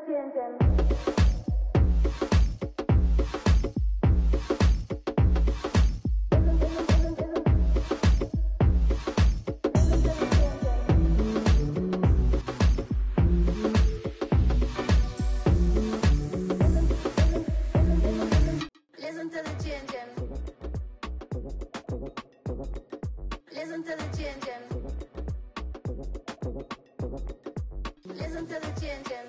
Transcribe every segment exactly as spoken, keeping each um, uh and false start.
Listen to the changing. Listen to the changing. Listen to the changing.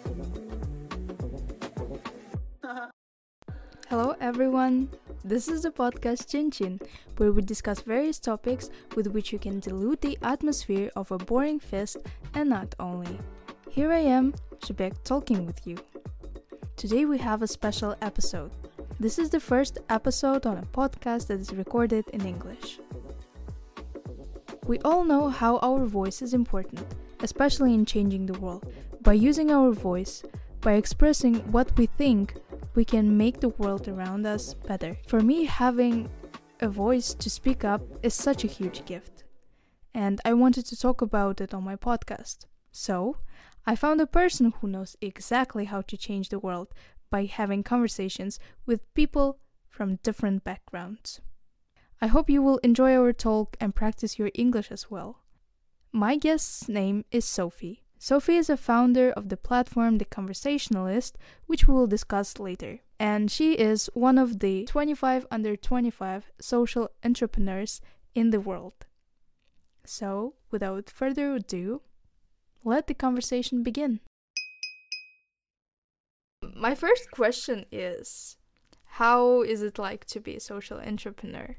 Hello everyone, this is the podcast Chin Chin, where we discuss various topics with which you can dilute the atmosphere of a boring fest and not only. Here I am, Shebek, talking with you. Today we have a special episode. This is the first episode on a podcast that is recorded in English. We all know how our voice is important, especially in changing the world. By using our voice, by expressing what we think, we can make the world around us better. For me, having a voice to speak up is such a huge gift. And I wanted to talk about it on my podcast. So, I found a person who knows exactly how to change the world by having conversations with people from different backgrounds. I hope you will enjoy our talk and practice your English as well. My guest's name is Sophie. Sophie is a founder of the platform The Conversationalist, which we will discuss later. And she is one of the twenty-five under twenty-five social entrepreneurs in the world. So, without further ado, let the conversation begin. My first question is, how is it like to be a social entrepreneur?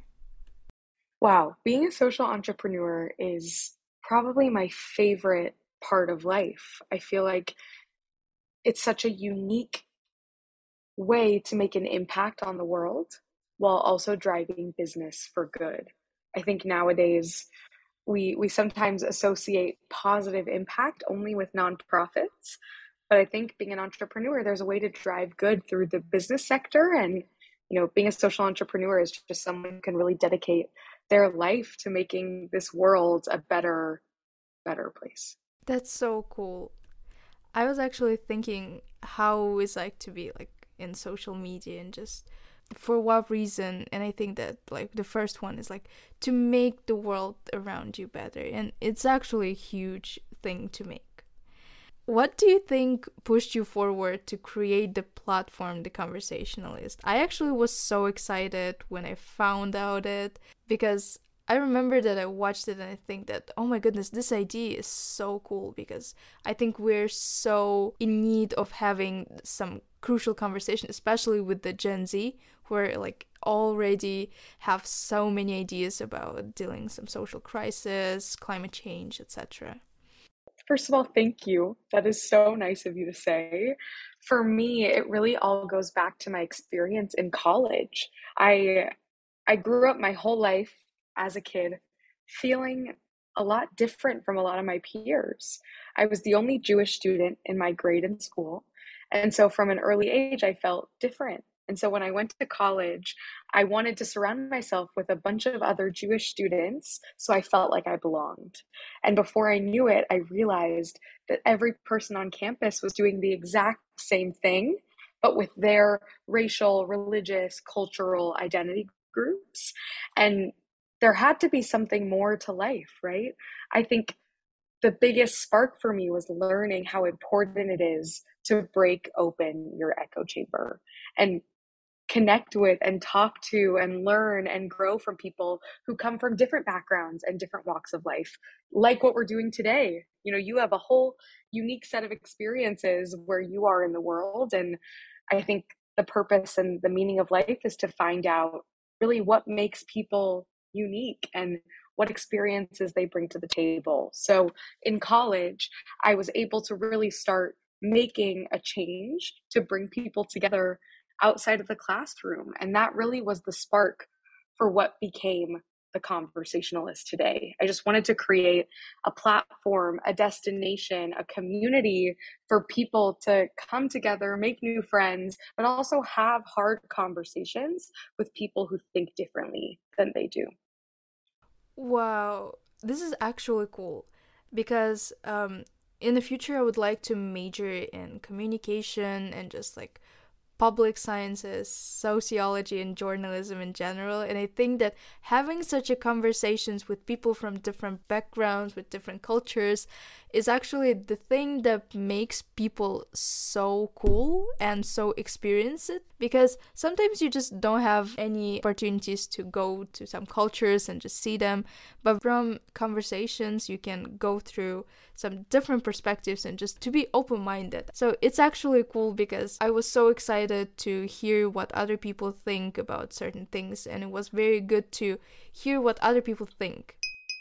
Wow, being a social entrepreneur is probably my favorite part of life. I feel like it's such a unique way to make an impact on the world while also driving business for good. I think nowadays we we sometimes associate positive impact only with nonprofits, but I think being an entrepreneur, there's a way to drive good through the business sector. And you know, being a social entrepreneur is just someone who can really dedicate their life to making this world a better better place. That's so cool. I was actually thinking how it's like to be like in social media and just for what reason. And I think that like the first one is like to make the world around you better. And it's actually a huge thing to make. What do you think pushed you forward to create the platform, The Conversationalist? I actually was so excited when I found out it because I remember that I watched it and I think that, oh my goodness, this idea is so cool because I think we're so in need of having some crucial conversation, especially with the Gen Z, who are like already have so many ideas about dealing some social crisis, climate change, et cetera. First of all, thank you. That is so nice of you to say. For me, it really all goes back to my experience in college. I I grew up my whole life as a kid feeling a lot different from a lot of my peers. I was the only Jewish student in my grade in school. And so from an early age, I felt different. And so when I went to college, I wanted to surround myself with a bunch of other Jewish students so I felt like I belonged. And before I knew it, I realized that every person on campus was doing the exact same thing, but with their racial, religious, cultural identity groups. And there had to be something more to life, right? I think the biggest spark for me was learning how important it is to break open your echo chamber and connect with and talk to and learn and grow from people who come from different backgrounds and different walks of life, like what we're doing today. You know, you have a whole unique set of experiences where you are in the world. And I think the purpose and the meaning of life is to find out really what makes people unique and what experiences they bring to the table. So in college, I was able to really start making a change to bring people together outside of the classroom. And that really was the spark for what became The Conversationalist today. I just wanted to create a platform, a destination, a community for people to come together, make new friends, but also have hard conversations with people who think differently than they do. Wow, this is actually cool because um, in the future, I would like to major in communication and just like public sciences, sociology, and journalism in general. And I think that having such a conversations with people from different backgrounds, with different cultures, is actually the thing that makes people so cool and so experience it. Because sometimes you just don't have any opportunities to go to some cultures and just see them. But from conversations, you can go through some different perspectives and just to be open-minded. So it's actually cool because I was so excited to hear what other people think about certain things, and it was very good to hear what other people think.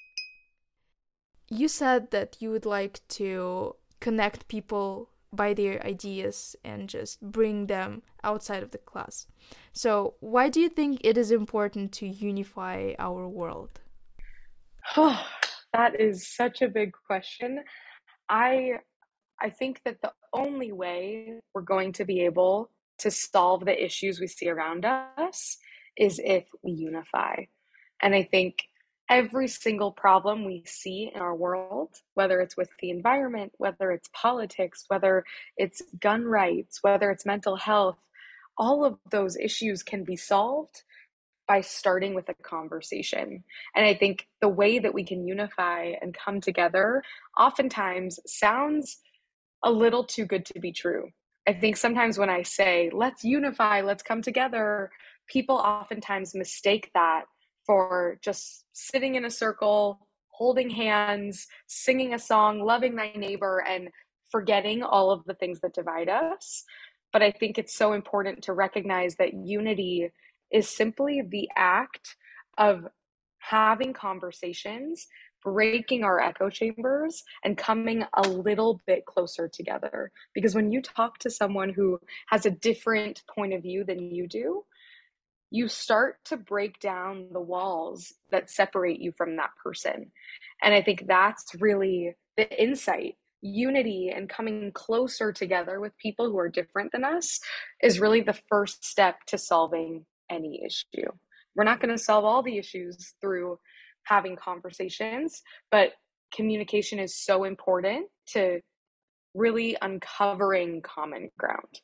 You said that you would like to connect people by their ideas and just bring them outside of the class. So why do you think it is important to unify our world? Oh, that is such a big question. I I think that the only way we're going to be able to solve the issues we see around us is if we unify. And I think every single problem we see in our world, whether it's with the environment, whether it's politics, whether it's gun rights, whether it's mental health, all of those issues can be solved by starting with a conversation. And I think the way that we can unify and come together oftentimes sounds a little too good to be true. I think sometimes when I say, let's unify, let's come together, people oftentimes mistake that for just sitting in a circle, holding hands, singing a song, loving thy neighbor, and forgetting all of the things that divide us. But I think it's so important to recognize that unity is simply the act of having conversations, breaking our echo chambers, and coming a little bit closer together. Because when you talk to someone who has a different point of view than you do, you start to break down the walls that separate you from that person. And I think that's really the insight. Unity and coming closer together with people who are different than us is really the first step to solving any issue. We're not going to solve all the issues through having conversations, but communication is so important to really uncovering common ground.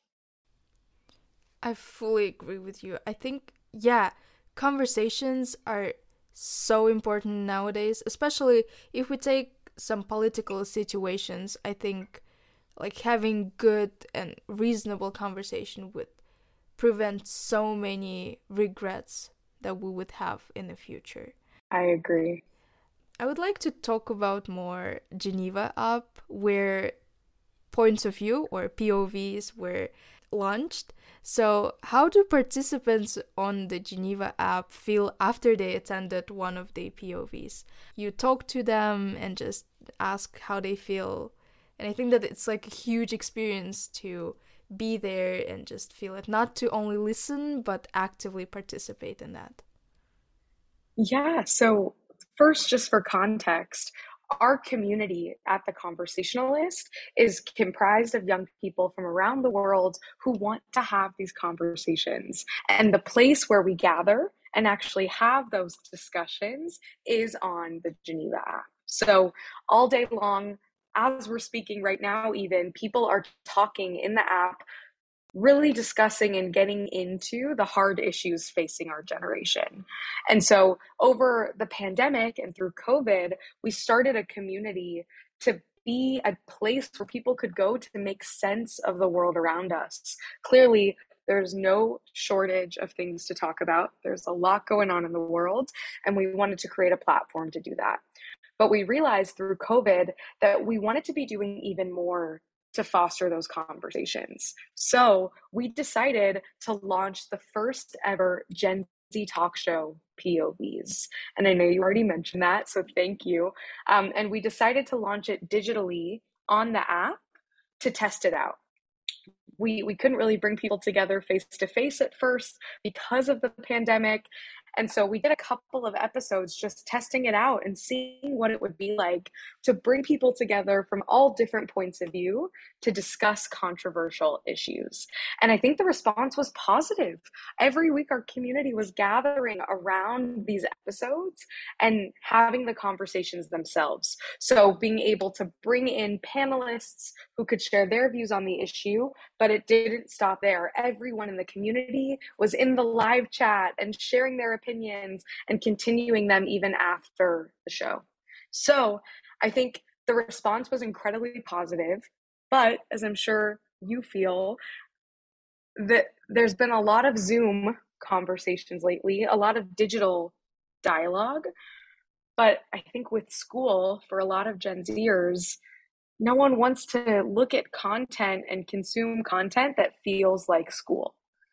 I fully agree with you. I think, yeah, conversations are so important nowadays, especially if we take some political situations. I think like having good and reasonable conversation would prevent so many regrets that we would have in the future. I agree. I would like to talk about more Geneva app, where points of view or P O Vs were launched. So how do participants on the Geneva app feel after they attended one of the P O Vs? You talk to them and just ask how they feel. And I think that it's like a huge experience to be there and just feel it, not to only listen, but actively participate in that. Yeah, so first, just for context, our community at The Conversationalist is comprised of young people from around the world who want to have these conversations. And the place where we gather and actually have those discussions is on the Geneva app. So all day long, as we're speaking right now, even, people are talking in the app, really discussing and getting into the hard issues facing our generation. And so over the pandemic and through COVID, we started a community to be a place where people could go to make sense of the world around us. Clearly, there's no shortage of things to talk about. There's a lot going on in the world, and we wanted to create a platform to do that. But we realized through COVID that we wanted to be doing even more to foster those conversations. So we decided to launch the first ever Gen Z talk show P O Vs. And I know you already mentioned that, so thank you. Um, and we decided to launch it digitally on the app to test it out. We, we couldn't really bring people together face to face at first because of the pandemic. And so we did a couple of episodes just testing it out and seeing what it would be like to bring people together from all different points of view to discuss controversial issues. And I think the response was positive. Every week, our community was gathering around these episodes and having the conversations themselves. So being able to bring in panelists who could share their views on the issue, but it didn't stop there. Everyone in the community was in the live chat and sharing their opinions and continuing them even after the show. So I think the response was incredibly positive, but as I'm sure you feel, that there's been a lot of Zoom conversations lately, a lot of digital dialogue. But I think with school, for a lot of Gen Zers, no one wants to look at content and consume content that feels like school.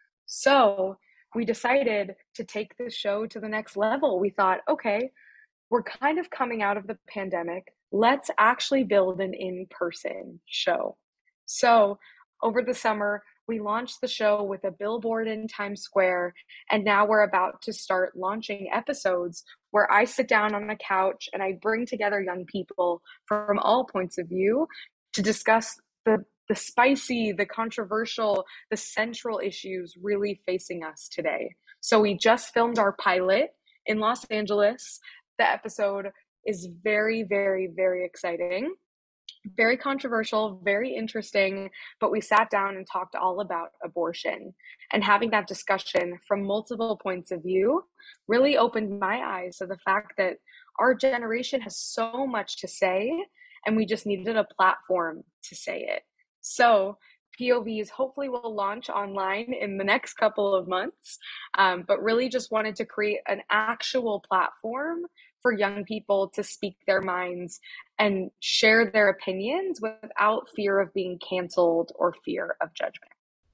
So we decided to take the show to the next level. We thought, okay, we're kind of coming out of the pandemic. Let's actually build an in-person show. So over the summer, we launched the show with a billboard in Times Square, and now we're about to start launching episodes where I sit down on a couch and I bring together young people from all points of view to discuss the, the spicy, the controversial, the central issues really facing us today. So we just filmed our pilot in Los Angeles. The episode is very, very, very exciting. Very controversial, very interesting, but we sat down and talked all about abortion, and having that discussion from multiple points of view really opened my eyes to the fact that our generation has so much to say and we just needed a platform to say it. So P O Vs hopefully will launch online in the next couple of months, um, but really just wanted to create an actual platform for young people to speak their minds and share their opinions without fear of being canceled or fear of judgment.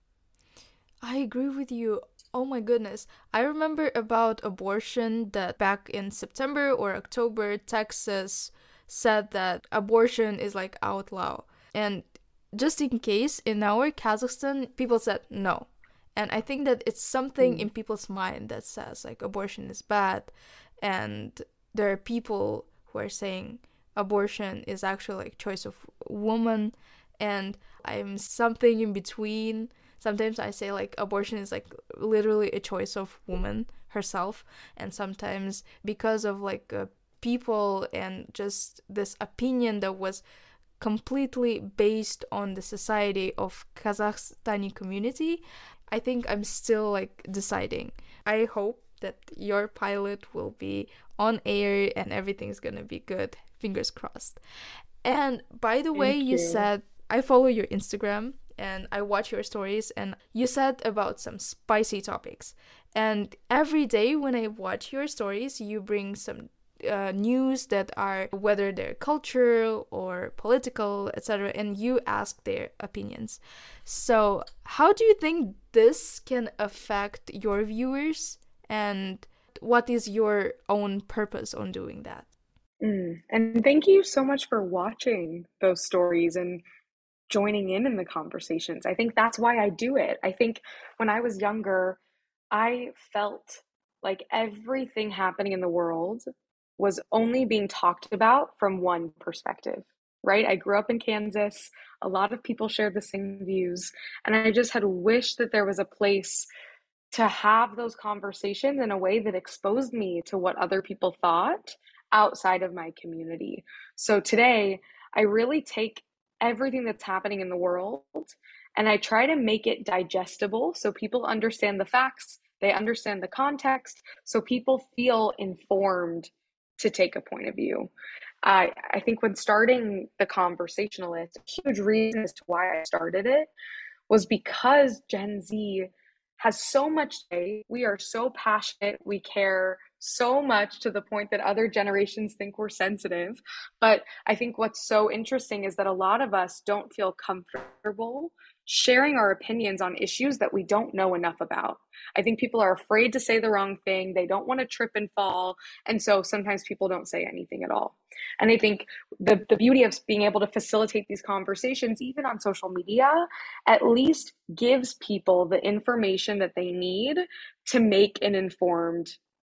I agree with you. Oh my goodness. I remember about abortion that back in September or October, Texas said that abortion is like outlaw. And just in case, in our Kazakhstan, people said no. And I think that it's something mm. in people's mind that says like abortion is bad. And there are people who are saying abortion is actually like choice of woman, and I'm something in between. Sometimes I say like abortion is like literally a choice of woman herself, and sometimes because of like uh, people and just this opinion that was completely based on the society of Kazakhstani community, I think I'm still like deciding. I hope that your pilot will be on air and everything's gonna be good. Fingers crossed. And by the Thank way, you. you said, I follow your Instagram and I watch your stories, and you said about some spicy topics. And every day when I watch your stories, you bring some uh, news that are, whether they're cultural or political, et cetera, and you ask their opinions. So how do you think this can affect your viewers? And what is your own purpose on doing that? Mm. And thank you so much for watching those stories and joining in in the conversations. I think that's why I do it. I think when I was younger, I felt like everything happening in the world was only being talked about from one perspective, right? I grew up in Kansas. A lot of people shared the same views. And I just had wished that there was a place to have those conversations in a way that exposed me to what other people thought outside of my community. So today, I really take everything that's happening in the world and I try to make it digestible so people understand the facts, they understand the context, so people feel informed to take a point of view. I, I think when starting the Conversationalist, a huge reason as to why I started it was because Gen Z has so much to say. We are so passionate. We care so much to the point that other generations think we're sensitive. But I think what's so interesting is that a lot of us don't feel comfortable sharing our opinions on issues that we don't know enough about. I think people are afraid to say the wrong thing. They don't want to trip and fall. And so sometimes people don't say anything at all. And I think the, the beauty of being able to facilitate these conversations, even on social media, at least gives people the information that they need to make an informed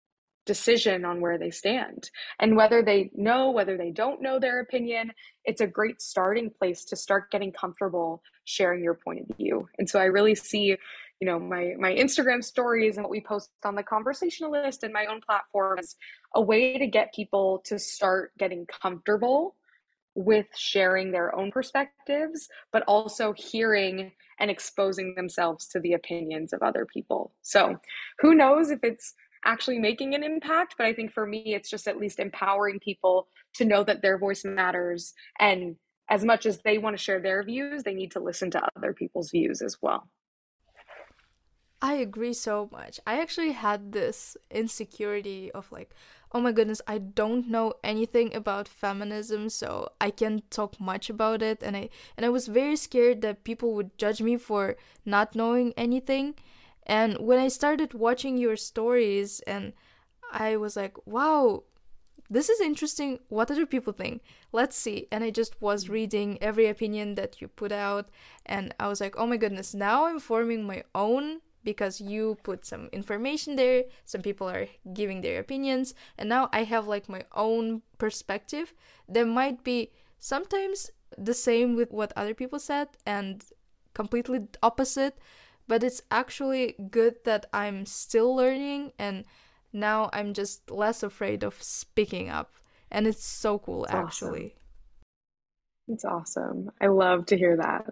decision on where they stand. And whether they know, whether they don't know their opinion, it's a great starting place to start getting comfortable sharing your point of view. And so I really see, you know, my my Instagram stories and what we post on the conversationalist and my own platform as a way to get people to start getting comfortable with sharing their own perspectives, but also hearing and exposing themselves to the opinions of other people. So who knows if it's actually making an impact, but I think for me, it's just at least empowering people to know that their voice matters. And as much as they want to share their views, they need to listen to other people's views as well. I agree so much. I actually had this insecurity of like, oh my goodness, I don't know anything about feminism, so I can't talk much about it. And I and I was very scared that people would judge me for not knowing anything. And when I started watching your stories and I was like, wow, this is interesting. What other people think? Let's see. And I just was reading every opinion that you put out. And I was like, oh my goodness, now I'm forming my own, because you put some information there, some people are giving their opinions, and now I have like my own perspective that might be sometimes the same with what other people said and completely opposite, but it's actually good that I'm still learning, and now I'm just less afraid of speaking up, and it's so cool. It's actually awesome. It's awesome. I love to hear that.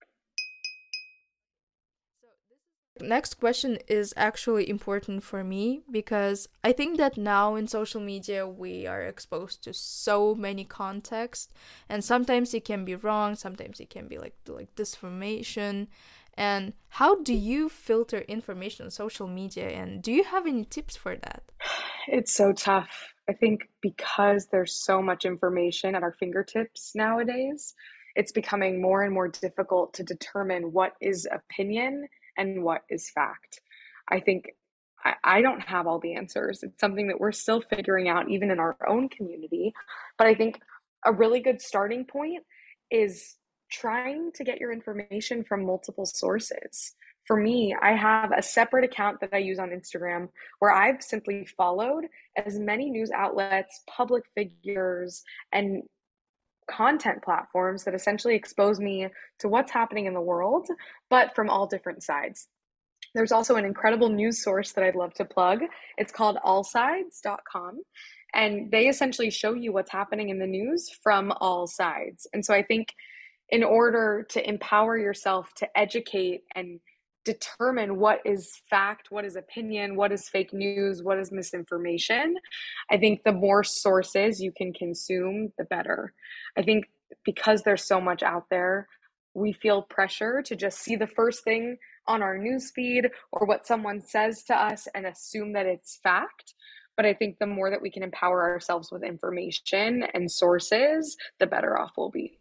Next question is actually important for me, because I think that now in social media we are exposed to so many contexts, and sometimes it can be wrong, sometimes it can be like like disinformation. And how do you filter information on social media, and do you have any tips for that? It's so tough. I think because there's so much information at our fingertips nowadays, it's becoming more and more difficult to determine what is opinion and what is fact. I think I, I don't have all the answers. It's something that we're still figuring out even in our own community. But I think a really good starting point is trying to get your information from multiple sources. For me, I have a separate account that I use on Instagram where I've simply followed as many news outlets, public figures, and content platforms that essentially expose me to what's happening in the world, but from all different sides. There's also an incredible news source that I'd love to plug. It's called all sides dot com, and they essentially show you what's happening in the news from all sides. And so I think in order to empower yourself to educate and determine what is fact, what is opinion, what is fake news, what is misinformation, I think the more sources you can consume, the better. I think because there's so much out there, we feel pressure to just see the first thing on our newsfeed or what someone says to us and assume that it's fact. But I think the more that we can empower ourselves with information and sources, the better off we'll be.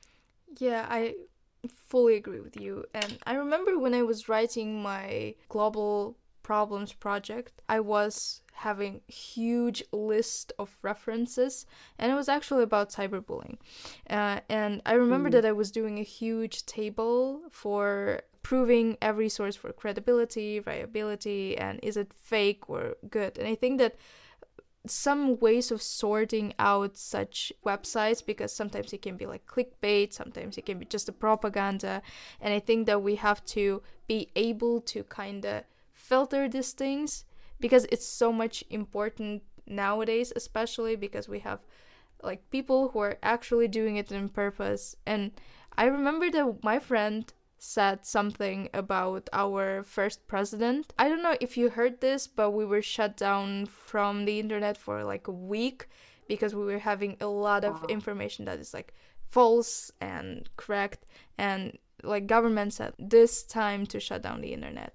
Yeah, I fully agree with you. And I remember when I was writing my global problems project, I was having a huge list of references, and it was actually about cyberbullying. Uh, and I remember mm. that I was doing a huge table for proving every source for credibility, viability, and is it fake or good. And I think that some ways of sorting out such websites, because sometimes it can be like clickbait, sometimes it can be just a propaganda, and I think that we have to be able to kind of filter these things, because it's so much important nowadays, especially because we have like people who are actually doing it on purpose. And I remember that my friend said something about our first president. I don't know if you heard this, but we were shut down from the internet for like a week because we were having a lot of information that is like false and correct, and like government said this time to shut down the internet.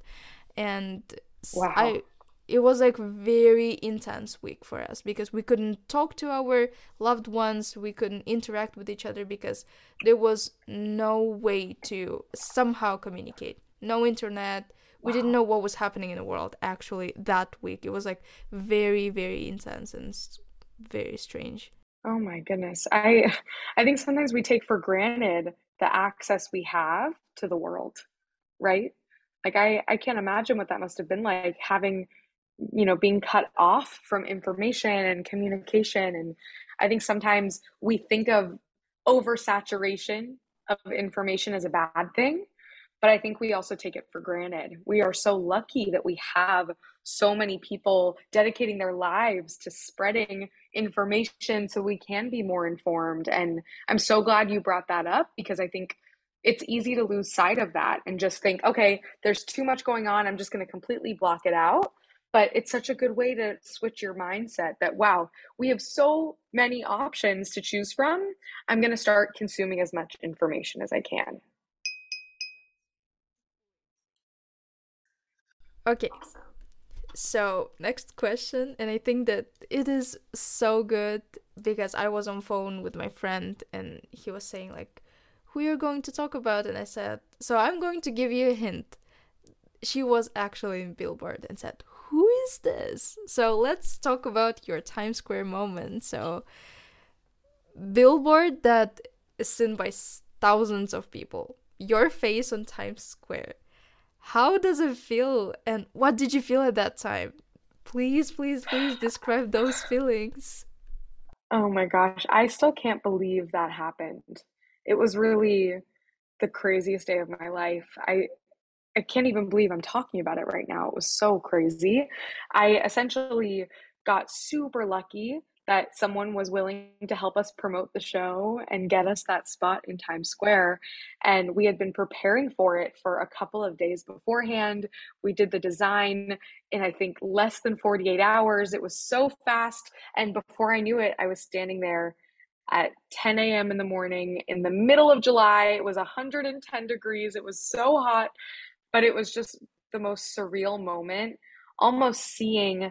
And wow. I it was like very intense week for us because we couldn't talk to our loved ones, we couldn't interact with each other because there was no way to somehow communicate. No internet. Wow. We didn't know what was happening in the world actually that week. It was like very, very intense and very strange. Oh my goodness. I I think sometimes we take for granted the access we have to the world, right? Like I, I can't imagine what that must have been like, having you know, being cut off from information and communication. And I think sometimes we think of oversaturation of information as a bad thing, but I think we also take it for granted. We are so lucky that we have so many people dedicating their lives to spreading information so we can be more informed. And I'm so glad you brought that up, because I think it's easy to lose sight of that and just think, okay, there's too much going on, I'm just going to completely block it out. But it's such a good way to switch your mindset that, wow, we have so many options to choose from. I'm going to start consuming as much information as I can. Okay, so next question, and I think that it is so good because I was on phone with my friend and he was saying like, who you're going to talk about, and I said, so I'm going to give you a hint. She was actually in Billboard and said, who is this? So let's talk about your Times Square moment. So Billboard that is seen by thousands of people, your face on Times Square. How does it feel, and what did you feel at that time? Please, please, please describe those feelings. Oh my gosh, I still can't believe that happened. It was really the craziest day of my life. I I can't even believe I'm talking about it right now. It was so crazy. I essentially got super lucky that someone was willing to help us promote the show and get us that spot in Times Square. And we had been preparing for it for a couple of days beforehand. We did the design in, I think, less than forty-eight hours. It was so fast. And before I knew it, I was standing there at ten a.m. in the morning in the middle of July. It was one hundred ten degrees. It was so hot, but it was just the most surreal moment, almost seeing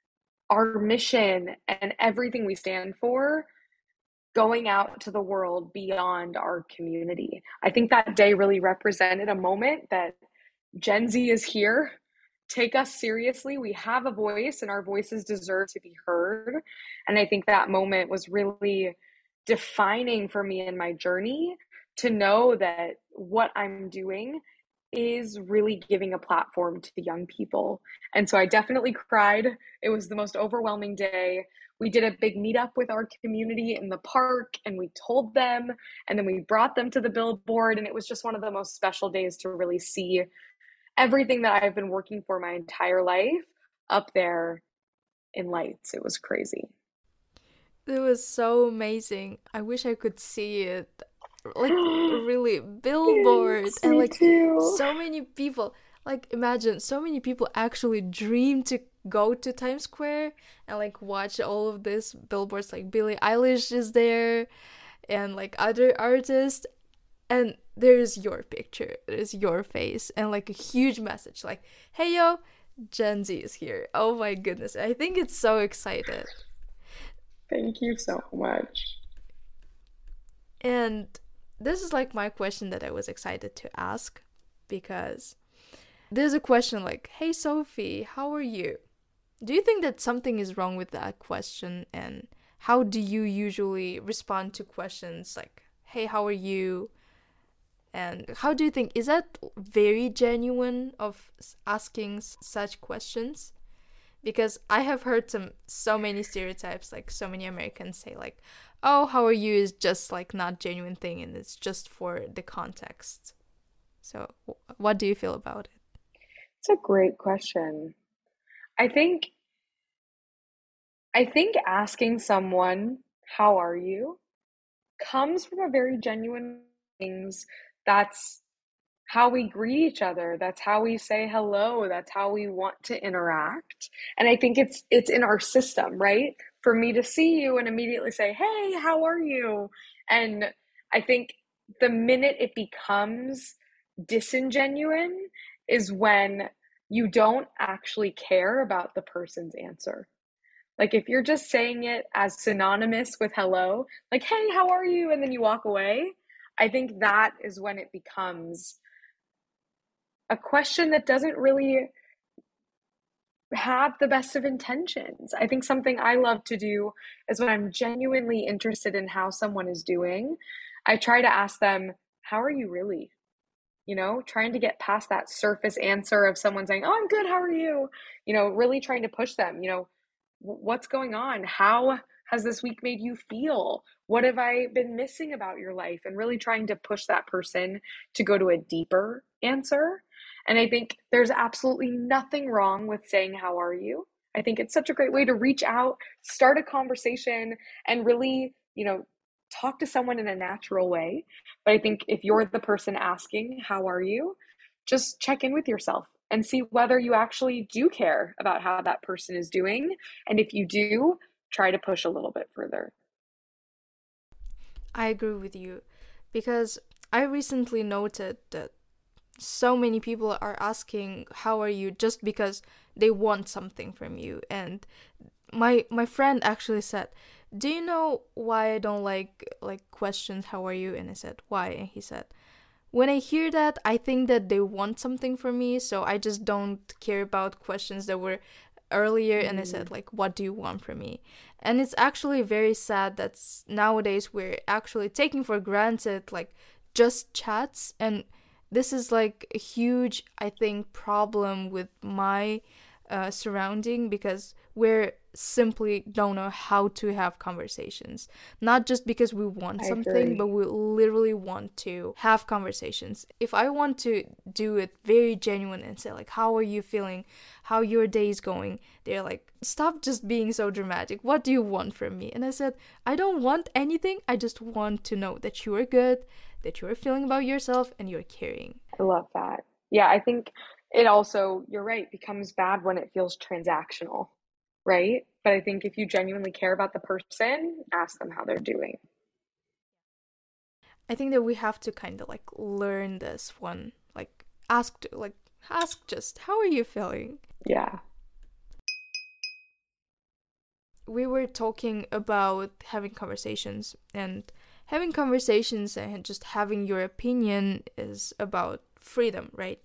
our mission and everything we stand for going out to the world beyond our community. I think that day really represented a moment that Gen Z is here. Take us seriously. We have a voice and our voices deserve to be heard. And I think that moment was really defining for me in my journey to know that what I'm doing is really giving a platform to the young people. And so I definitely cried. It was the most overwhelming day. We did a big meetup with our community in the park and we told them, and then we brought them to the billboard. And it was just one of the most special days to really see everything that I've been working for my entire life up there in lights. It was crazy. It was so amazing. I wish I could see it. Like really billboards Yes, and me like too. so many people, like imagine so many people actually dream to go to Times Square and like watch all of this billboards. Like Billie Eilish is there and like other artists, and there's your picture, there's your face, and like a huge message like, hey yo, Gen Z is here. Oh my goodness, I think it's so excited. Thank you so much. And this is like my question that I was excited to ask, because there's a question like, hey Sophie, how are you? Do you think that something is wrong with that question? And how do you usually respond to questions like, hey, how are you? And how do you think, is that very genuine of asking such questions? Because I have heard some so many stereotypes, like so many Americans say like, oh, how are you is just like not genuine thing and it's just for the context. So what do you feel about it? It's a great question. I think I think asking someone, how are you, comes from a very genuine things. That's how we greet each other. That's how we say hello. That's how we want to interact. And I think it's it's in our system, right? For me to see you and immediately say, hey, how are you? And I think the minute it becomes disingenuine is when you don't actually care about the person's answer. Like if you're just saying it as synonymous with hello, like, hey, how are you? And then you walk away, I think that is when it becomes a question that doesn't really have the best of intentions. I think something I love to do is when I'm genuinely interested in how someone is doing, I try to ask them, how are you really? you know, trying to get past that surface answer of someone saying, "Oh, I'm good, how are you?" You know, really trying to push them, you know, what's going on? How has this week made you feel? What have I been missing about your life? And really trying to push that person to go to a deeper answer. And I think there's absolutely nothing wrong with saying, "How are you?" I think it's such a great way to reach out, start a conversation, and really, you know, talk to someone in a natural way. But I think if you're the person asking, "How are you?" just check in with yourself and see whether you actually do care about how that person is doing. And if you do, try to push a little bit further. I agree with you because I recently noted that so many people are asking how are you just because they want something from you. And my my friend actually said, "Do you know why I don't like like questions, how are you?" And I said, "Why?" And he said, "When I hear that, I think that they want something from me, so I just don't care about questions that were earlier." Mm. And I said, like, "What do you want from me?" And it's actually very sad that nowadays we're actually taking for granted, like, just chats. And this is, like, a huge, I think, problem with my uh, surrounding, because we're simply don't know how to have conversations. Not just because we want I something, agree. but we literally want to have conversations. If I want to do it very genuine and say, like, "How are you feeling? How your day is going?" They're like, "Stop just being so dramatic. What do you want from me?" And I said, "I don't want anything. I just want to know that you are good, that you are feeling about yourself, and you're caring." I love that. Yeah, I think it also, you're right, becomes bad when it feels transactional, right? But I think if you genuinely care about the person, ask them how they're doing. I think that we have to kind of like learn this one, like ask, like ask just, "How are you feeling?" Yeah. We were talking about having conversations, and having conversations and just having your opinion is about freedom, right?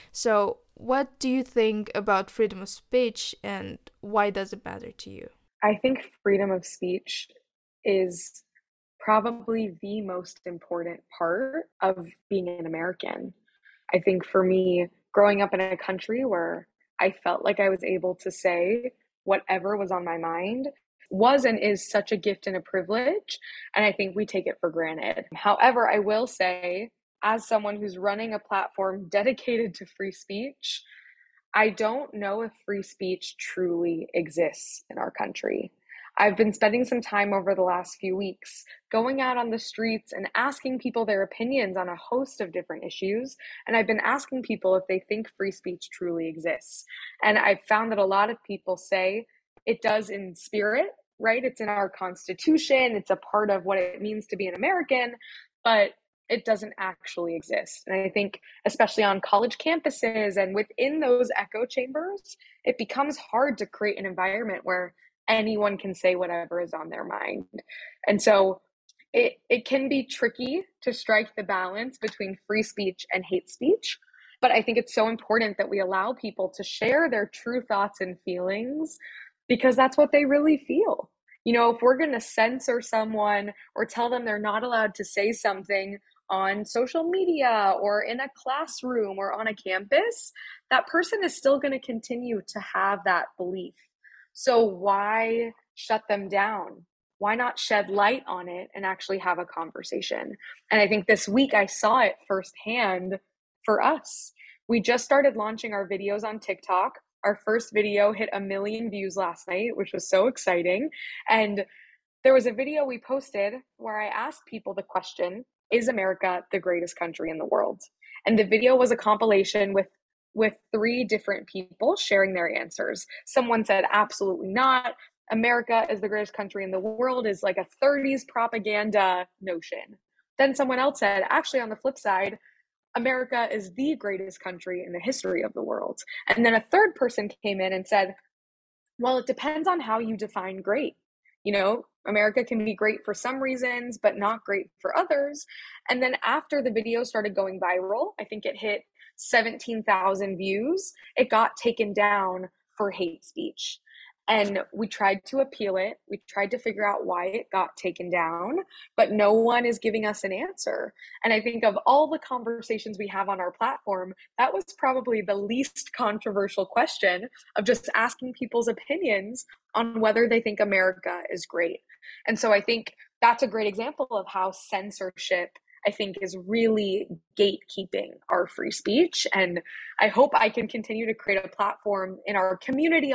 So what do you think about freedom of speech, and why does it matter to you? I think freedom of speech is probably the most important part of being an American. I think for me, growing up in a country where I felt like I was able to say whatever was on my mind was and is such a gift and a privilege. And I think we take it for granted. However, I will say, as someone who's running a platform dedicated to free speech, I don't know if free speech truly exists in our country. I've been spending some time over the last few weeks going out on the streets and asking people their opinions on a host of different issues. And I've been asking people if they think free speech truly exists. And I've found that a lot of people say it does in spirit, right? It's in our Constitution, it's a part of what it means to be an American, but it doesn't actually exist. And I think, especially on college campuses and within those echo chambers, it becomes hard to create an environment where anyone can say whatever is on their mind. And so it, it can be tricky to strike the balance between free speech and hate speech. But I think it's so important that we allow people to share their true thoughts and feelings, because that's what they really feel. You know, if we're going to censor someone or tell them they're not allowed to say something on social media or in a classroom or on a campus, that person is still going to continue to have that belief. So why shut them down? Why not shed light on it and actually have a conversation? And I think this week I saw it firsthand for us. We just started launching our videos on TikTok. Our first video hit a million views last night, which was so exciting. And there was a video we posted where I asked people the question, is America the greatest country in the world? And the video was a compilation with with three different people sharing their answers. Someone said, absolutely not. America is the greatest country in the world is like a thirties propaganda notion. Then someone else said, actually, on the flip side, America is the greatest country in the history of the world. And then a third person came in and said, well, it depends on how you define great. You know, America can be great for some reasons, but not great for others. And then after the video started going viral, I think it hit seventeen thousand views, it got taken down for hate speech. And we tried to appeal it. We tried to figure out why it got taken down, but no one is giving us an answer. And I think of all the conversations we have on our platform, that was probably the least controversial question of just asking people's opinions on whether they think America is great. And so I think that's a great example of how censorship, I think, is really gatekeeping our free speech. And I hope I can continue to create a platform in our community.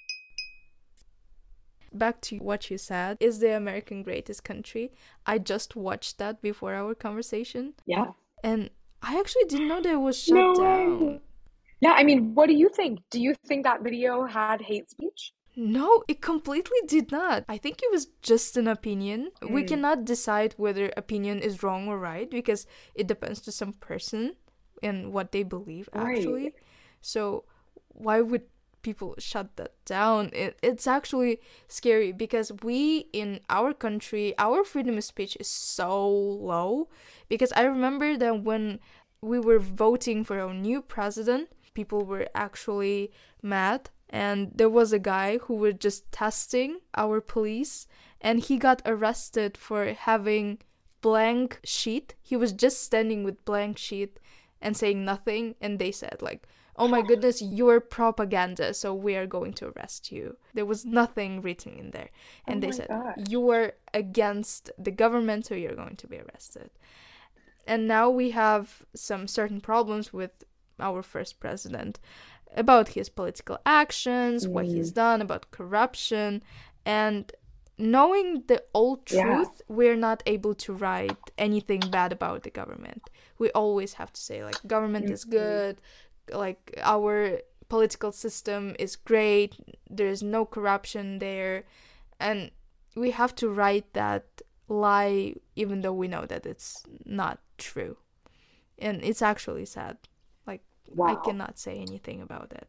Back to what you said, is the American greatest country? I just watched that before our conversation. Yeah. And I actually didn't know that it was shut No down. way. Yeah, I mean, what do you think? Do you think that video had hate speech? No, it completely did not. I think it was just an opinion. Mm. We cannot decide whether opinion is wrong or right because it depends to some person and what they believe, actually. Right. So why would people shut that down? It, it's actually scary because we, in our country, our freedom of speech is so low. Because I remember that when we were voting for our new president, people were actually mad. And there was a guy who was just testing our police, and he got arrested for having blank sheet. He was just standing with blank sheet and saying nothing, and they said like, oh my goodness, you're propaganda, so we are going to arrest you. There was nothing written in there. And oh they said, gosh. You are against the government, so you're going to be arrested. And now we have some certain problems with our first president about his political actions, mm. what he's done, about corruption. And knowing the old truth, yeah. we're not able to write anything bad about the government. We always have to say, like, government mm-hmm. is good, like, our political system is great, there's no corruption there. And we have to write that lie even though we know that it's not true. And it's actually sad. Like, wow. I cannot say anything about it.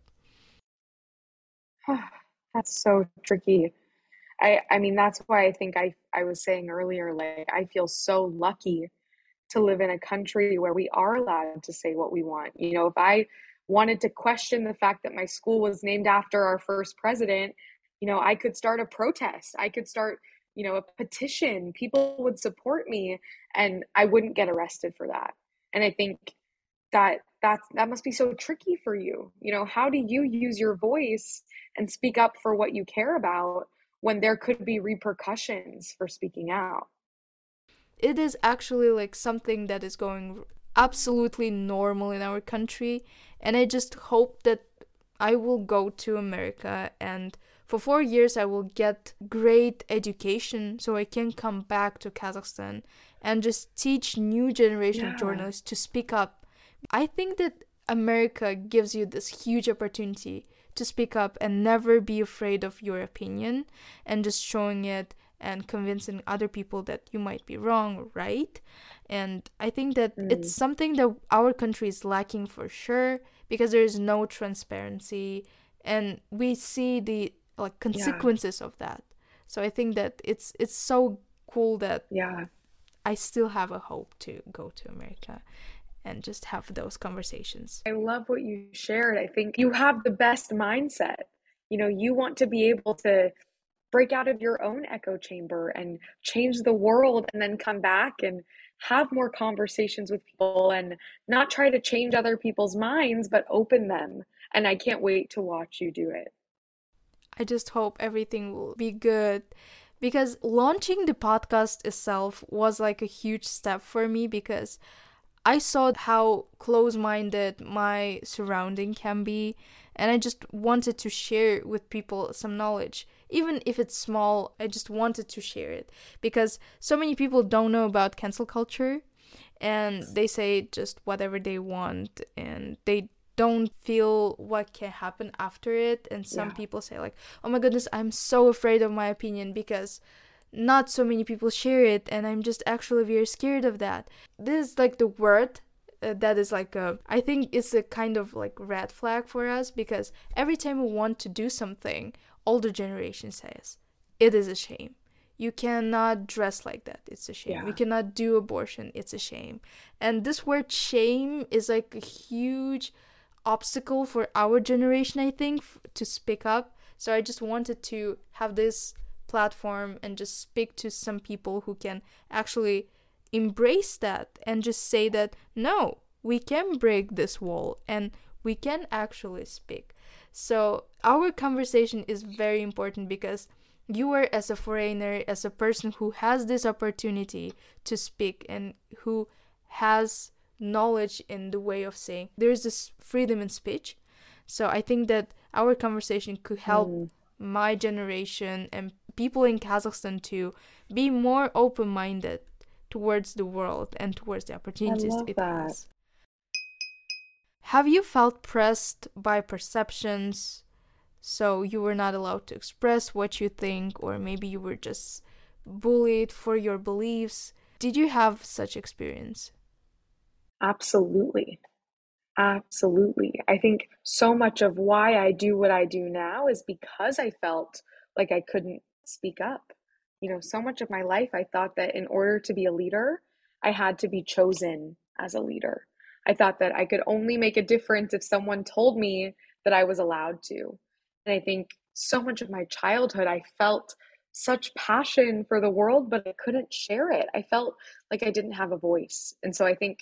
That's so tricky. I, I mean, that's why I think I, I was saying earlier, like, I feel so lucky to live in a country where we are allowed to say what we want. You know, if I wanted to question the fact that my school was named after our first president, you know, I could start a protest. I could start, you know, a petition. People would support me and I wouldn't get arrested for that. And I think that that's, that must be so tricky for you. You know, how do you use your voice and speak up for what you care about when there could be repercussions for speaking out? It is actually like something that is going absolutely normal in our country. And I just hope that I will go to America and for four years I will get great education so I can come back to Kazakhstan and just teach new generation yeah. of journalists to speak up. I think that America gives you this huge opportunity to speak up and never be afraid of your opinion and just showing it and convincing other people that you might be wrong or right. And I think that mm. it's something that our country is lacking for sure because there is no transparency and we see the like consequences yeah. of that. So I think that it's it's so cool that yeah. I still have a hope to go to America and just have those conversations. I love what you shared. I think you have the best mindset. You know, you want to be able to break out of your own echo chamber and change the world and then come back and have more conversations with people and not try to change other people's minds, but open them. And I can't wait to watch you do it. I just hope everything will be good because launching the podcast itself was like a huge step for me because I saw how close-minded my surrounding can be and I just wanted to share with people some knowledge. Even if it's small, I just wanted to share it because so many people don't know about cancel culture and they say just whatever they want and they don't feel what can happen after it. And some yeah. people say like, oh my goodness, I'm so afraid of my opinion because not so many people share it and I'm just actually very scared of that. This is like the word uh, that is like a, I think it's a kind of like red flag for us because every time we want to do something, older generation says, it is a shame. You cannot dress like that. It's a shame. Yeah. We cannot do abortion. It's a shame. And this word shame is like a huge obstacle for our generation, I think, f- to speak up So I just wanted to have this platform and just speak to some people who can actually embrace that and just say that, no, we can break this wall and we can actually speak. So our conversation is very important because you are, as a foreigner, as a person who has this opportunity to speak and who has knowledge in the way of saying, there's this freedom in speech. So I think that our conversation could help mm. my generation and people in Kazakhstan to be more open-minded towards the world and towards the opportunities I love it that. has. Have you felt pressed by perceptions, so you were not allowed to express what you think, or maybe you were just bullied for your beliefs? Did you have such experience? Absolutely. Absolutely. I think so much of why I do what I do now is because I felt like I couldn't speak up. You know, so much of my life, I thought that in order to be a leader, I had to be chosen as a leader. I thought that I could only make a difference if someone told me that I was allowed to. And I think so much of my childhood, I felt such passion for the world, but I couldn't share it. I felt like I didn't have a voice. And so I think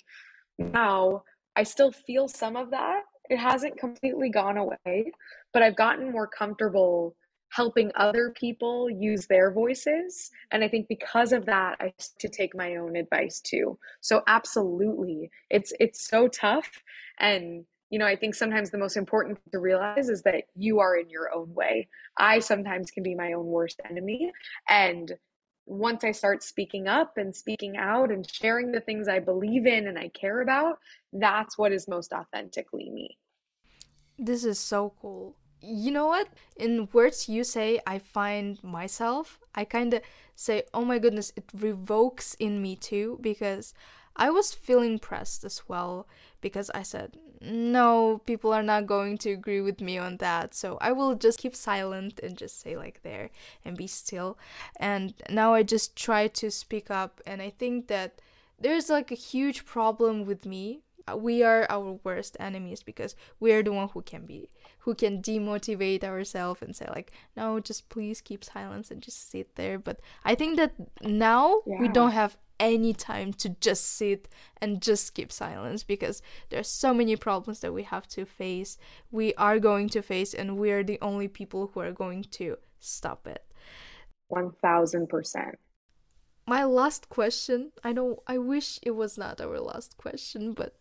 now I still feel some of that. It hasn't completely gone away, but I've gotten more comfortable helping other people use their voices. And I think because of that, I have to take my own advice too. So absolutely, it's it's so tough. And, you know, I think sometimes the most important thing to realize is that you are in your own way. I sometimes can be my own worst enemy. And once I start speaking up and speaking out and sharing the things I believe in and I care about, that's what is most authentically me. This is so cool. You know what? In words you say, I find myself, I kind of say, oh my goodness, it revokes in me too, because I was feeling pressed as well, because I said, no, people are not going to agree with me on that, so I will just keep silent and just say like there and be still. And now I just try to speak up, and I think that there's like a huge problem with me. We are our worst enemies because we are the one who can be who can demotivate ourselves and say like, no, just please keep silence and just sit there. But I think that now yeah. we don't have any time to just sit and just keep silence, because there's so many problems that we have to face, we are going to face, and we are the only people who are going to stop it. one thousand percent. My last question, I know, I wish it was not our last question, but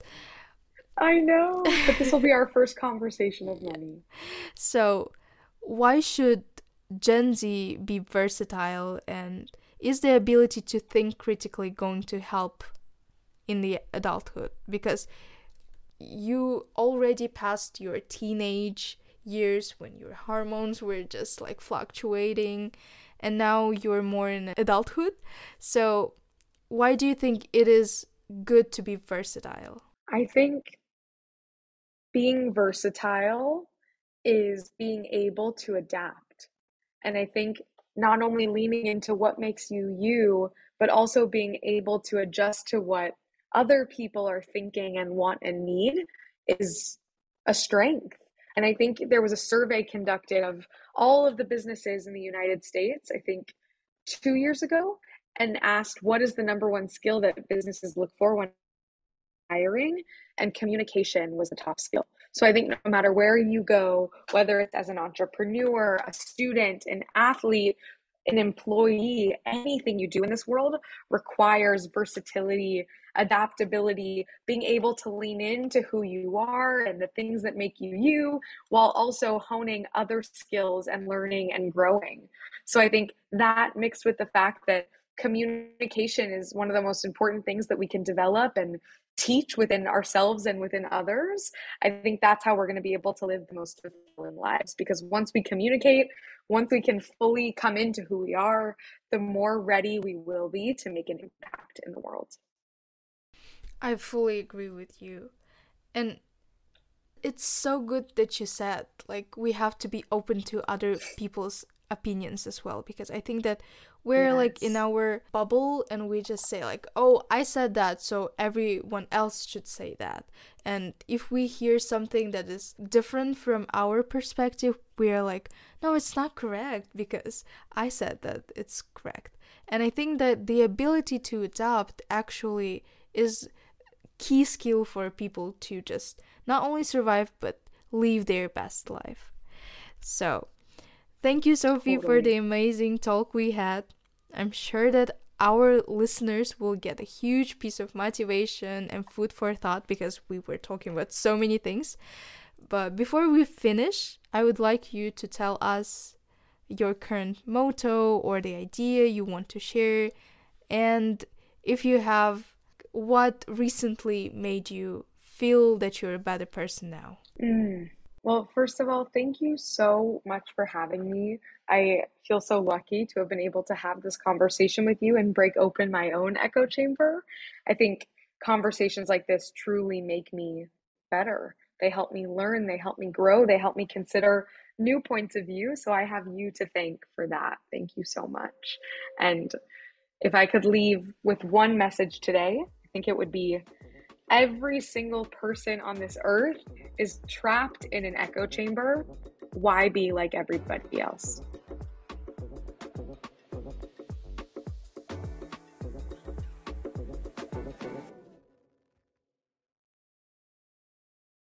I know, but this will be our first conversation of many. So, why should Gen Z be versatile, and is the ability to think critically going to help in the adulthood? Because you already passed your teenage years when your hormones were just like fluctuating, and now you're more in adulthood. So why do you think it is good to be versatile? I think being versatile is being able to adapt. And I think not only leaning into what makes you you, but also being able to adjust to what other people are thinking and want and need is a strength. And I think there was a survey conducted of all of the businesses in the United States, I think two years ago, and asked what is the number one skill that businesses look for when hiring, and communication was the top skill. So I think no matter where you go, whether it's as an entrepreneur, a student, an athlete, an employee, anything you do in this world requires versatility, adaptability, being able to lean into who you are and the things that make you you, while also honing other skills and learning and growing. So I think that, mixed with the fact that communication is one of the most important things that we can develop and teach within ourselves and within others, I think that's how we're going to be able to live the most fulfilling lives. Because once we communicate, once we can fully come into who we are, the more ready we will be to make an impact in the world. I fully agree with you. And it's so good that you said, like, we have to be open to other people's opinions as well, because I think that we're like in Yes. our bubble and we just say like, oh, I said that, so everyone else should say that. And if we hear something that is different from our perspective, we're like, no, it's not correct because I said that it's correct. And I think that the ability to adapt actually is key skill for people to just not only survive but live their best life. So thank you, Sophie, for Totally. the amazing talk we had. I'm sure that our listeners will get a huge piece of motivation and food for thought because we were talking about so many things. But before we finish, I would like you to tell us your current motto or the idea you want to share, and if you have, what recently made you feel that you're a better person now. Mm. Well, first of all, thank you so much for having me. I feel so lucky to have been able to have this conversation with you and break open my own echo chamber. I think conversations like this truly make me better. They help me learn, they help me grow, they help me consider new points of view. So I have you to thank for that. Thank you so much. And if I could leave with one message today, I think it would be every single person on this earth is trapped in an echo chamber. Why be like everybody else?